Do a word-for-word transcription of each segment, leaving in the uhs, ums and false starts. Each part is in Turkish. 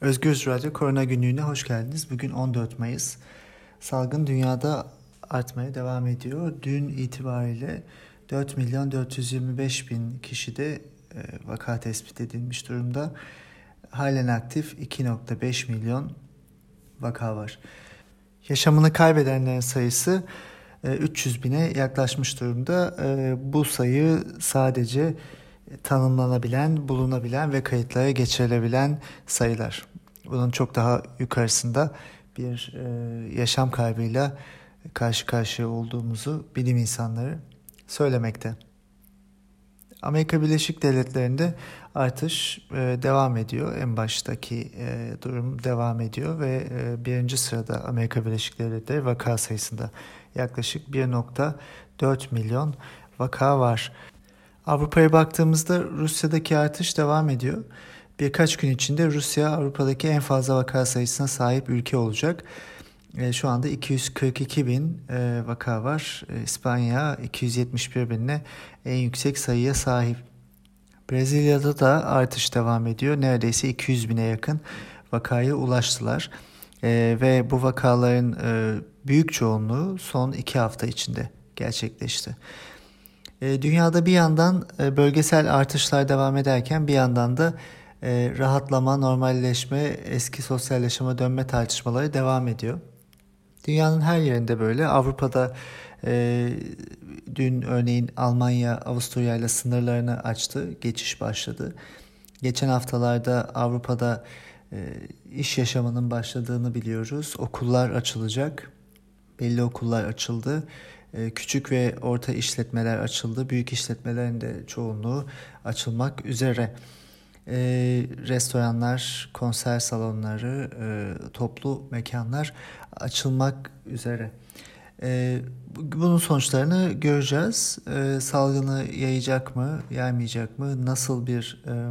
Özgür Radyo Korona Günlüğü'ne hoş geldiniz. Bugün on dört Mayıs. Salgın dünyada artmaya devam ediyor. Dün itibariyle dört milyon dört yüz yirmi beş bin kişide e, vaka tespit edilmiş durumda. Halen aktif iki virgül beş milyon vaka var. Yaşamını kaybedenlerin sayısı e, üç yüz bine yaklaşmış durumda. E, bu sayı sadece tanımlanabilen, bulunabilen ve kayıtlara geçirilebilen sayılar. Bunun çok daha yukarısında bir e, yaşam kaybıyla karşı karşıya olduğumuzu bilim insanları söylemekte. Amerika Birleşik Devletleri'nde artış e, devam ediyor. En baştaki e, durum devam ediyor ve e, birinci sırada Amerika Birleşik Devletleri vaka sayısında yaklaşık bir virgül dört milyon vaka var. Avrupa'ya baktığımızda Rusya'daki artış devam ediyor. Birkaç gün içinde Rusya Avrupa'daki en fazla vaka sayısına sahip ülke olacak. E, şu anda iki yüz kırk iki bin e, vaka var. E, İspanya iki yüz yetmiş bir binle en yüksek sayıya sahip. Brezilya'da da artış devam ediyor. Neredeyse iki yüz bine yakın vakaya ulaştılar. E, ve bu vakaların e, büyük çoğunluğu son iki hafta içinde gerçekleşti. Dünyada bir yandan bölgesel artışlar devam ederken bir yandan da rahatlama, normalleşme, eski sosyal yaşama dönme tartışmaları devam ediyor. Dünyanın her yerinde böyle. Avrupa'da e, dün örneğin Almanya, Avusturya ile sınırlarını açtı, geçiş başladı. Geçen haftalarda Avrupa'da e, iş yaşamının başladığını biliyoruz. Okullar açılacak, belli okullar açıldı. Küçük ve orta işletmeler açıldı. Büyük işletmelerin de çoğunluğu açılmak üzere. E, restoranlar, konser salonları, e, toplu mekanlar açılmak üzere. E, bunun sonuçlarını göreceğiz. E, salgını yayacak mı, yaymayacak mı? Nasıl bir e,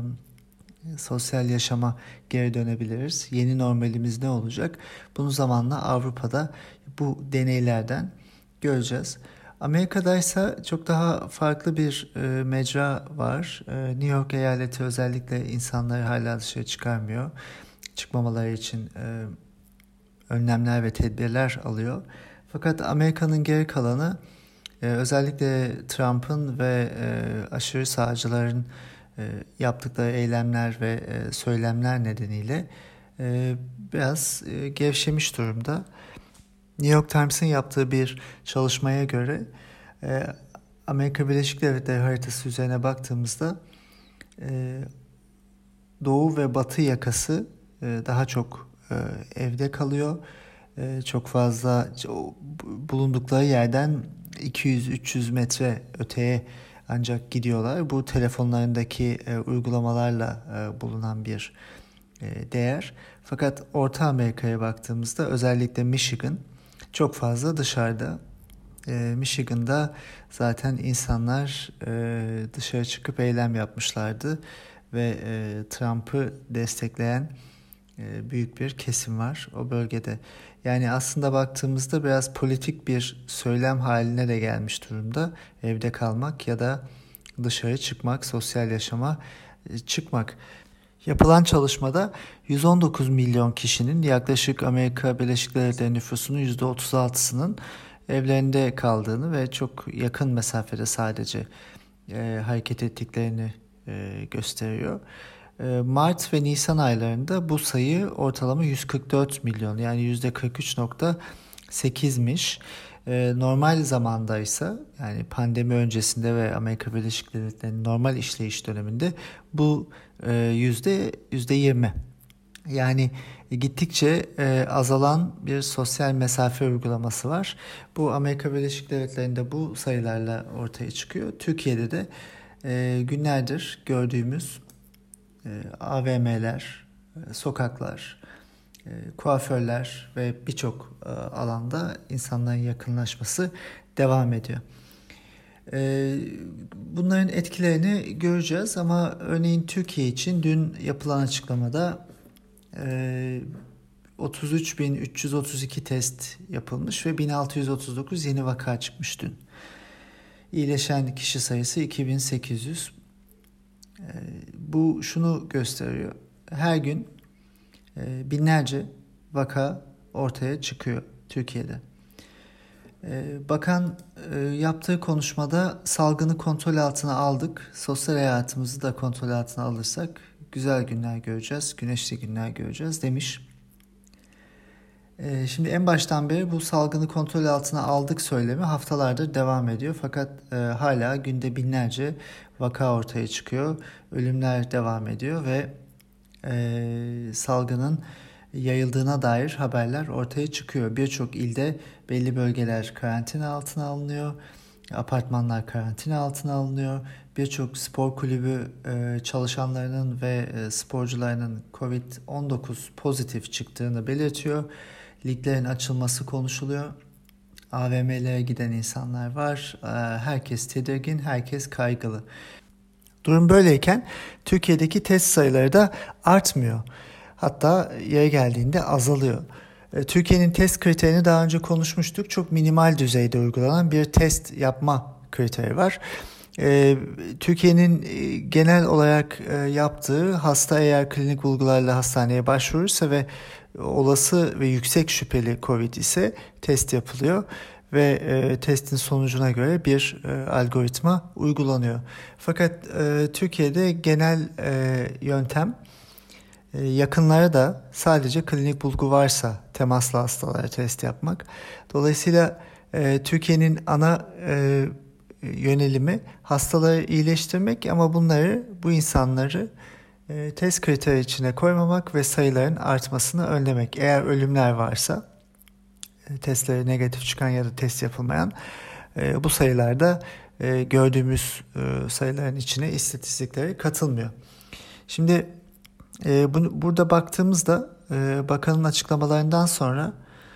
sosyal yaşama geri dönebiliriz? Yeni normalimiz ne olacak? Bunu zamanla Avrupa'da bu deneylerden göreceğiz. Amerika'da ise çok daha farklı bir e, mecra var. E, New York eyaleti özellikle insanları hala dışarı çıkarmıyor. Çıkmamaları için e, önlemler ve tedbirler alıyor. Fakat Amerika'nın geri kalanı e, özellikle Trump'ın ve e, aşırı sağcıların e, yaptıkları eylemler ve e, söylemler nedeniyle e, biraz e, gevşemiş durumda. New York Times'ın yaptığı bir çalışmaya göre e, Amerika Birleşik Devletleri haritası üzerine baktığımızda e, Doğu ve Batı yakası e, daha çok e, evde kalıyor. E, çok fazla bulundukları yerden iki yüz üç yüz metre öteye ancak gidiyorlar. Bu telefonlarındaki e, uygulamalarla e, bulunan bir e, değer. Fakat Orta Amerika'ya baktığımızda özellikle Michigan çok fazla dışarıda. E, Michigan'da zaten insanlar e, dışarı çıkıp eylem yapmışlardı ve e, Trump'ı destekleyen e, büyük bir kesim var o bölgede. Yani aslında baktığımızda biraz politik bir söylem haline de gelmiş durumda. Evde kalmak ya da dışarı çıkmak, sosyal yaşama e, çıkmak. Yapılan çalışmada yüz on dokuz milyon kişinin yaklaşık Amerika Birleşik Devletleri nüfusunun yüzde otuz altısının evlerinde kaldığını ve çok yakın mesafede sadece e, hareket ettiklerini e, gösteriyor. E, Mart ve Nisan aylarında bu sayı ortalama yüz kırk dört milyon, yani yüzde kırk üç virgül sekizmiş. E, normal zamandaysa, yani pandemi öncesinde ve Amerika Birleşik Devletleri'nin normal işleyiş döneminde bu e, yüzde yüzde yirmi. Yani gittikçe e, azalan bir sosyal mesafe uygulaması var. Bu Amerika Birleşik Devletleri'nde bu sayılarla ortaya çıkıyor. Türkiye'de de e, günlerdir gördüğümüz e, A V M'ler, e, sokaklar, e, kuaförler ve birçok e, alanda insanların yakınlaşması devam ediyor. E, bunların etkilerini göreceğiz ama örneğin Türkiye için dün yapılan açıklamada e, otuz üç bin üç yüz otuz iki test yapılmış ve bin altı yüz otuz dokuz yeni vaka çıkmış dün. İyileşen kişi sayısı iki bin sekiz yüz. E, bu şunu gösteriyor. Her gün e, binlerce vaka ortaya çıkıyor Türkiye'de. E, bakan e, yaptığı konuşmada salgını kontrol altına aldık, sosyal hayatımızı da kontrol altına alırsak güzel günler göreceğiz, güneşli günler göreceğiz demiş. E, şimdi en baştan beri bu salgını kontrol altına aldık söylemi haftalardır devam ediyor. Fakat e, hala günde binlerce vaka ortaya çıkıyor, ölümler devam ediyor ve e, salgının yayıldığına dair haberler ortaya çıkıyor. Birçok ilde belli bölgeler karantina altına alınıyor, apartmanlar karantina altına alınıyor. Birçok spor kulübü e, çalışanlarının ve e, sporcularının kovid on dokuz pozitif çıktığını belirtiyor. Liglerin açılması konuşuluyor. A V M'lere giden insanlar var. E, herkes tedirgin, herkes kaygılı. Durum böyleyken Türkiye'deki test sayıları da artmıyor. Hatta yeri geldiğinde azalıyor. Türkiye'nin test kriterini daha önce konuşmuştuk. Çok minimal düzeyde uygulanan bir test yapma kriteri var. Türkiye'nin genel olarak yaptığı, hasta eğer klinik bulgularla hastaneye başvurursa ve olası ve yüksek şüpheli COVID ise test yapılıyor ve e, testin sonucuna göre bir e, algoritma uygulanıyor. Fakat e, Türkiye'de genel e, yöntem e, yakınlara da sadece klinik bulgu varsa temaslı hastalara test yapmak. Dolayısıyla e, Türkiye'nin ana e, yönelimi hastaları iyileştirmek ama bunları, bu insanları e, test kriteri içine koymamak ve sayıların artmasını önlemek. Eğer ölümler varsa, testleri negatif çıkan ya da test yapılmayan e, bu sayılarda e, gördüğümüz e, sayıların içine istatistiklere katılmıyor. Şimdi e, bunu, burada baktığımızda e, bakanın açıklamalarından sonra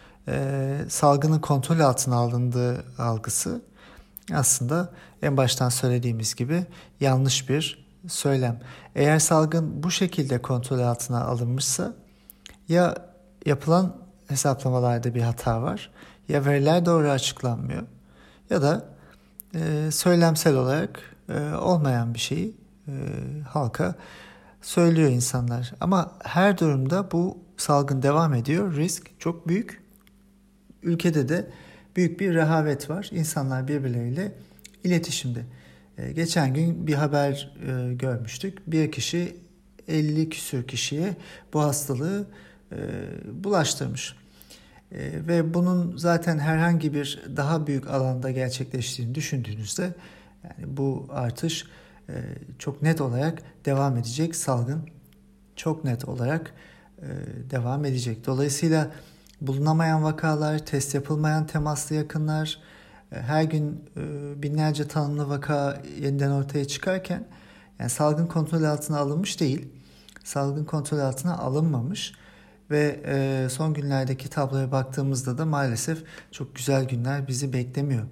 e, salgının kontrol altına alındığı algısı aslında en baştan söylediğimiz gibi yanlış bir söylem. Eğer salgın bu şekilde kontrol altına alınmışsa ya yapılan hesaplamalarda bir hata var, ya veriler doğru açıklanmıyor ya da e, söylemsel olarak e, olmayan bir şeyi e, halka söylüyor insanlar. Ama her durumda bu salgın devam ediyor, risk çok büyük. Ülkede de büyük bir rehavet var. İnsanlar birbirleriyle iletişimde. E, geçen gün bir haber e, görmüştük. Bir kişi elli küsür kişiye bu hastalığı e, bulaştırmış. E, ve bunun zaten herhangi bir daha büyük alanda gerçekleştiğini düşündüğünüzde yani bu artış e, çok net olarak devam edecek. Salgın çok net olarak e, devam edecek. Dolayısıyla bulunamayan vakalar, test yapılmayan temaslı yakınlar, her gün binlerce tanımlı vaka yeniden ortaya çıkarken yani salgın kontrol altına alınmış değil, salgın kontrol altına alınmamış ve son günlerdeki tabloya baktığımızda da maalesef çok güzel günler bizi beklemiyor.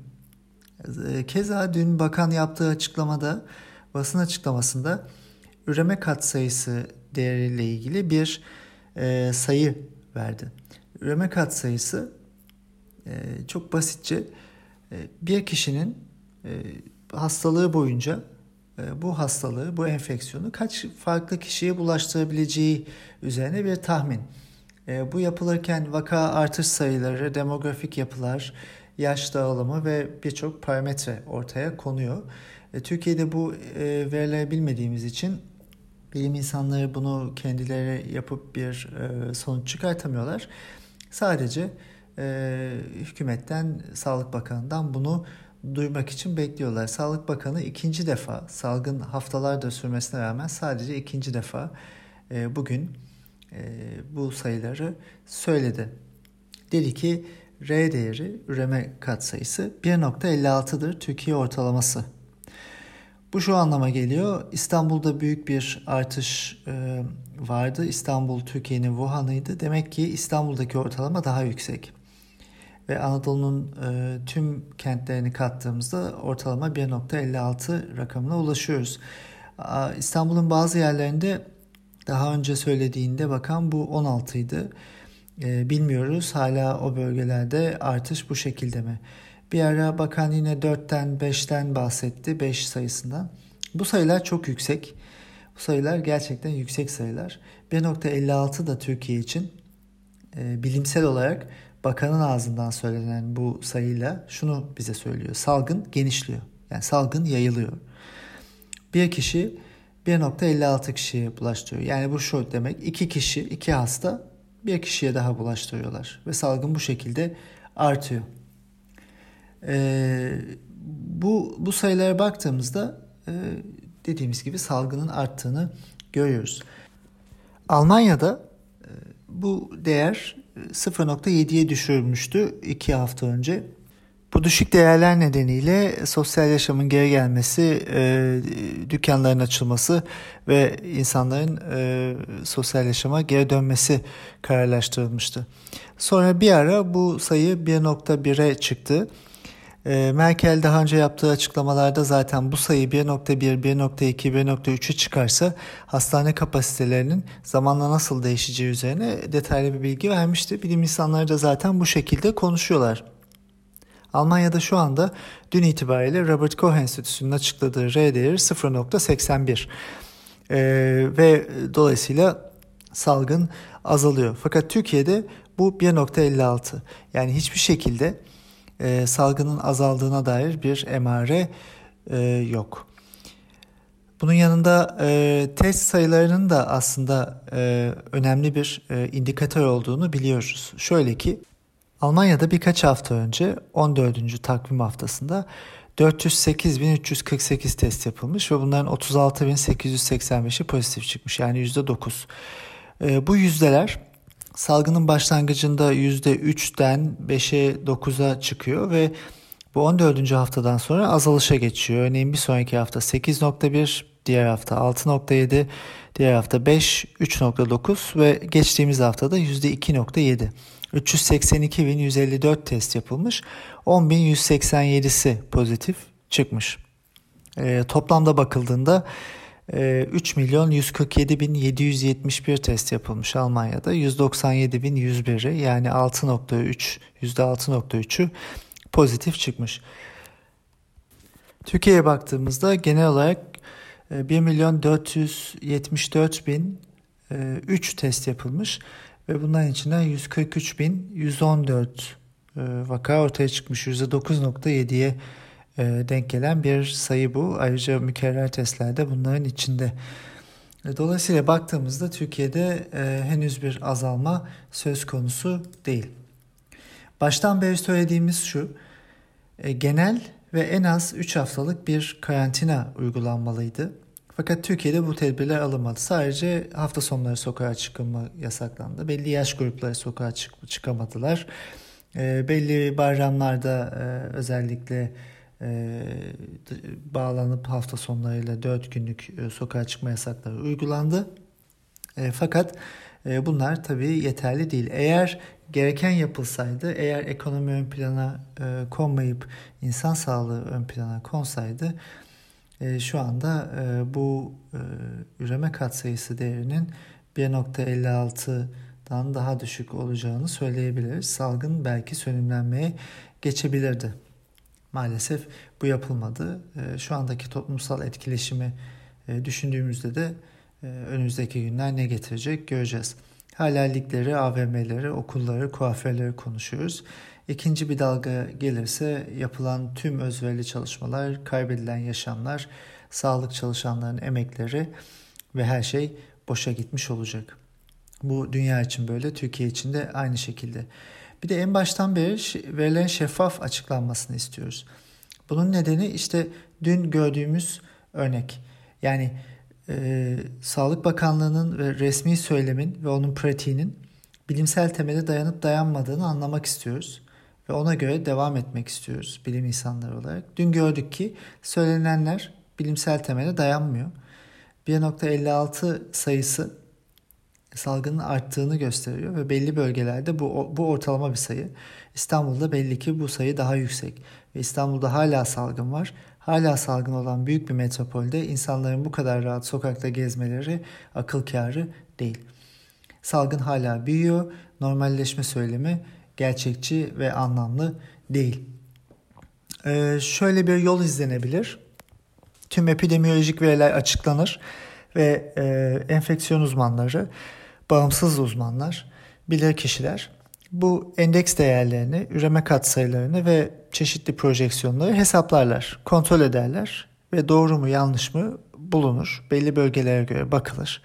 Keza dün bakan yaptığı açıklamada, basın açıklamasında üreme katsayısı değeriyle ilgili bir sayı verdi. Üreme katsayısı e, çok basitçe e, bir kişinin e, hastalığı boyunca e, bu hastalığı, bu enfeksiyonu kaç farklı kişiye bulaştırabileceği üzerine bir tahmin. E, bu yapılırken vaka artış sayıları, demografik yapılar, yaş dağılımı ve birçok parametre ortaya konuyor. E, Türkiye'de bu e, verileri bilmediğimiz için bilim insanları bunu kendileri yapıp bir e, sonuç çıkartamıyorlar. Sadece e, hükümetten, Sağlık Bakanı'ndan bunu duymak için bekliyorlar. Sağlık Bakanı ikinci defa, salgın haftalardır sürmesine rağmen sadece ikinci defa e, bugün e, bu sayıları söyledi. Dedi ki R değeri, üreme katsayısı bir nokta elli altıdır Türkiye ortalaması. Bu şu anlama geliyor. İstanbul'da büyük bir artış e, vardı. İstanbul Türkiye'nin Wuhan'ıydı. Demek ki İstanbul'daki ortalama daha yüksek. Ve Anadolu'nun e, tüm kentlerini kattığımızda ortalama bir nokta elli altı rakamına ulaşıyoruz. A, İstanbul'un bazı yerlerinde daha önce söylediğinde bakan bu on altıydı. E, bilmiyoruz hala o bölgelerde artış bu şekilde mi? Bir ara bakan yine dörtten beşten bahsetti, beş sayısından. Bu sayılar çok yüksek. Bu sayılar gerçekten yüksek sayılar. bir virgül elli altı da Türkiye için e, bilimsel olarak bakanın ağzından söylenen bu sayıyla şunu bize söylüyor. Salgın genişliyor. Yani salgın yayılıyor. Bir kişi bir virgül elli altı kişiye bulaştırıyor. Yani bu şu demek, iki kişi, iki hasta bir kişiye daha bulaştırıyorlar. Ve salgın bu şekilde artıyor. Ee, bu, bu sayılara baktığımızda e, dediğimiz gibi salgının arttığını görüyoruz. Almanya'da e, bu değer sıfır virgül yediye düşürülmüştü iki hafta önce. Bu düşük değerler nedeniyle sosyal yaşamın geri gelmesi, e, dükkanların açılması ve insanların e, sosyal yaşama geri dönmesi kararlaştırılmıştı. Sonra bir ara bu sayı bir virgül bire çıktı. E, Merkel daha önce yaptığı açıklamalarda zaten bu sayı bir virgül bir, bir virgül iki, bir virgül üçe çıkarsa hastane kapasitelerinin zamanla nasıl değişeceği üzerine detaylı bir bilgi vermişti. Bilim insanları da zaten bu şekilde konuşuyorlar. Almanya'da şu anda dün itibariyle Robert Koch Enstitüsü'nün açıkladığı R değeri sıfır virgül seksen bir ee, ve dolayısıyla salgın azalıyor. Fakat Türkiye'de bu bir virgül elli altı, yani hiçbir şekilde e, salgının azaldığına dair bir emare e, yok. Bunun yanında e, test sayılarının da aslında e, önemli bir e, indikatör olduğunu biliyoruz. Şöyle ki Almanya'da birkaç hafta önce on dördüncü takvim haftasında dört yüz sekiz bin üç yüz kırk sekiz test yapılmış ve bunların otuz altı bin sekiz yüz seksen beşi pozitif çıkmış, yani yüzde dokuz. E, bu yüzdeler salgının başlangıcında yüzde üçten beşe dokuza çıkıyor ve bu on dördüncü haftadan sonra azalışa geçiyor. Örneğin bir sonraki hafta sekiz virgül bir, diğer hafta altı virgül yedi, diğer hafta beş, üç virgül dokuz ve geçtiğimiz haftada yüzde iki virgül yedi. üç yüz seksen iki bin yüz elli dört test yapılmış, on bin yüz seksen yedisi pozitif çıkmış. E, toplamda bakıldığında e, üç milyon yüz kırk yedi bin yedi yüz yetmiş bir test yapılmış Almanya'da. yüz doksan yedi bin yüz biri, yani altı virgül üç, yüzde altı virgül üçü pozitif çıkmış. Türkiye'ye baktığımızda genel olarak bir milyon dört yüz yetmiş dört bin üç test yapılmış ve bunların içinden yüz kırk üç bin yüz on dört vaka ortaya çıkmış. yüzde dokuz virgül yediye denk gelen bir sayı bu. Ayrıca mükerrer testler de bunların içinde. Dolayısıyla baktığımızda Türkiye'de henüz bir azalma söz konusu değil. Baştan beri söylediğimiz şu: genel ve en az üç haftalık bir karantina uygulanmalıydı. Fakat Türkiye'de bu tedbirler alınmadı. Sadece hafta sonları sokağa çıkılma yasaklandı. Belli yaş grupları sokağa çık- çıkamadılar. E, belli bayramlarda e, özellikle e, bağlanıp hafta sonlarıyla dört günlük e, sokağa çıkma yasakları uygulandı. E, fakat e, bunlar tabii yeterli değil. Eğer gereken yapılsaydı, eğer ekonomi ön plana e, konmayıp insan sağlığı ön plana konsaydı, e, şu anda e, bu e, üreme katsayısı değerinin bir virgül elli altıdan daha düşük olacağını söyleyebiliriz. Salgın belki sönümlenmeye geçebilirdi. Maalesef bu yapılmadı. E, şu andaki toplumsal etkileşimi e, düşündüğümüzde de e, önümüzdeki günler ne getirecek göreceğiz. Hala ligleri, A V M'leri, okulları, kuaförleri konuşuyoruz. İkinci bir dalga gelirse yapılan tüm özverili çalışmalar, kaybedilen yaşamlar, sağlık çalışanlarının emekleri ve her şey boşa gitmiş olacak. Bu dünya için böyle, Türkiye için de aynı şekilde. Bir de en baştan beri verilen şeffaf açıklanmasını istiyoruz. Bunun nedeni işte dün gördüğümüz örnek. Yani e, Sağlık Bakanlığı'nın ve resmi söylemin ve onun pratiğinin bilimsel temele dayanıp dayanmadığını anlamak istiyoruz. Ve ona göre devam etmek istiyoruz bilim insanları olarak. Dün gördük ki söylenenler bilimsel temele dayanmıyor. bir virgül elli altı sayısı salgının arttığını gösteriyor ve belli bölgelerde bu, bu ortalama bir sayı. İstanbul'da belli ki bu sayı daha yüksek ve İstanbul'da hala salgın var. Hala salgın olan büyük bir metropolde insanların bu kadar rahat sokakta gezmeleri akıl kârı değil. Salgın hala büyüyor. Normalleşme söylemi gerçekçi ve anlamlı değil. Ee, şöyle bir yol izlenebilir. Tüm epidemiolojik veriler açıklanır ve e, enfeksiyon uzmanları bağımsız uzmanlar, bilirkişiler bu endeks değerlerini, üreme katsayılarını ve çeşitli projeksiyonları hesaplarlar, kontrol ederler ve doğru mu yanlış mı bulunur. Belli bölgelere göre bakılır.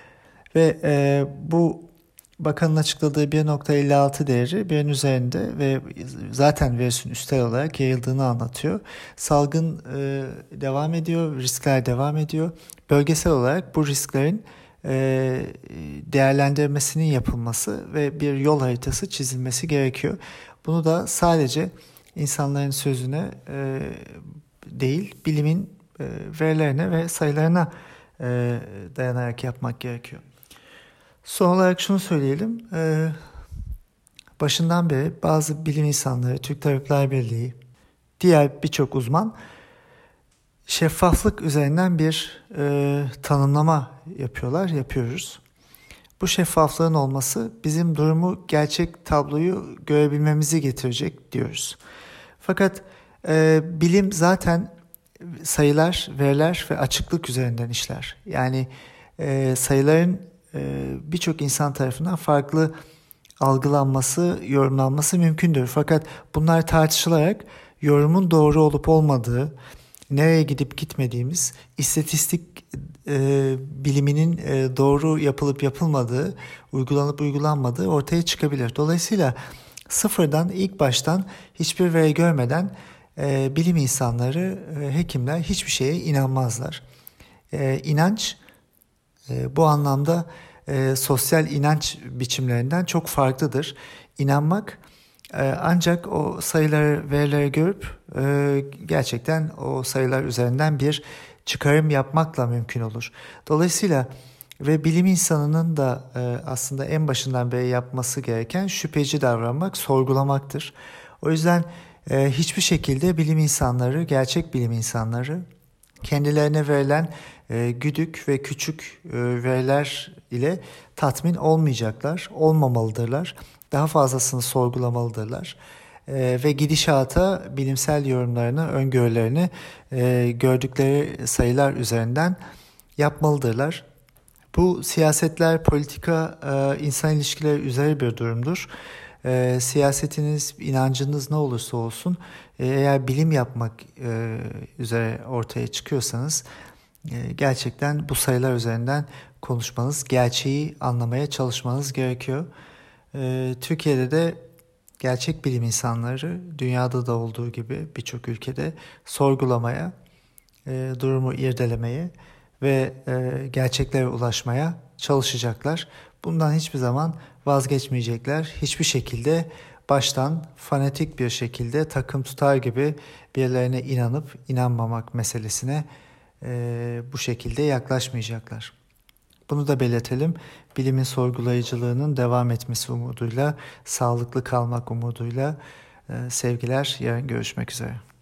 Ve e, bu bakanın açıkladığı bir nokta elli altı değeri birin üzerinde ve zaten virüsün üstel olarak yayıldığını anlatıyor. Salgın e, devam ediyor, riskler devam ediyor. Bölgesel olarak bu risklerin e, değerlendirmesinin yapılması ve bir yol haritası çizilmesi gerekiyor. Bunu da sadece insanların sözüne e, değil, bilimin e, verilerine ve sayılarına e, dayanarak yapmak gerekiyor. Son olarak şunu söyleyelim. Ee, başından beri bazı bilim insanları, Türk Tabipler Birliği, diğer birçok uzman şeffaflık üzerinden bir e, tanımlama yapıyorlar, yapıyoruz. Bu şeffaflığın olması bizim durumu, gerçek tabloyu görebilmemizi getirecek diyoruz. Fakat e, bilim zaten sayılar, veriler ve açıklık üzerinden işler. Yani e, sayıların birçok insan tarafından farklı algılanması, yorumlanması mümkündür. Fakat bunlar tartışılarak yorumun doğru olup olmadığı, nereye gidip gitmediğimiz, istatistik e, biliminin e, doğru yapılıp yapılmadığı, uygulanıp uygulanmadığı ortaya çıkabilir. Dolayısıyla sıfırdan, ilk baştan hiçbir veri görmeden e, bilim insanları, e, hekimler hiçbir şeye inanmazlar. E, inanç E, bu anlamda e, sosyal inanç biçimlerinden çok farklıdır. İnanmak e, ancak o sayıları, verileri görüp e, gerçekten o sayılar üzerinden bir çıkarım yapmakla mümkün olur. Dolayısıyla ve bilim insanının da e, aslında en başından beri yapması gereken şüpheci davranmak, sorgulamaktır. O yüzden e, hiçbir şekilde bilim insanları, gerçek bilim insanları kendilerine verilen e, güdük ve küçük e, veriler ile tatmin olmayacaklar, olmamalıdırlar. Daha fazlasını sorgulamalıdırlar. E, ve gidişata bilimsel yorumlarını, öngörülerini e, gördükleri sayılar üzerinden yapmalıdırlar. Bu siyasetler, politika, e, insan ilişkileri üzeri bir durumdur. E, siyasetiniz, inancınız ne olursa olsun, e, eğer bilim yapmak e, üzere ortaya çıkıyorsanız e, gerçekten bu sayılar üzerinden konuşmanız, gerçeği anlamaya çalışmanız gerekiyor. E, Türkiye'de de gerçek bilim insanları dünyada da olduğu gibi birçok ülkede sorgulamaya, e, durumu irdelemeye ve e, gerçeklere ulaşmaya çalışacaklar. Bundan hiçbir zaman vazgeçmeyecekler. Hiçbir şekilde baştan fanatik bir şekilde takım tutar gibi birilerine inanıp inanmamak meselesine e, bu şekilde yaklaşmayacaklar. Bunu da belirtelim. Bilimin sorgulayıcılığının devam etmesi umuduyla, sağlıklı kalmak umuduyla e, sevgiler. Yarın görüşmek üzere.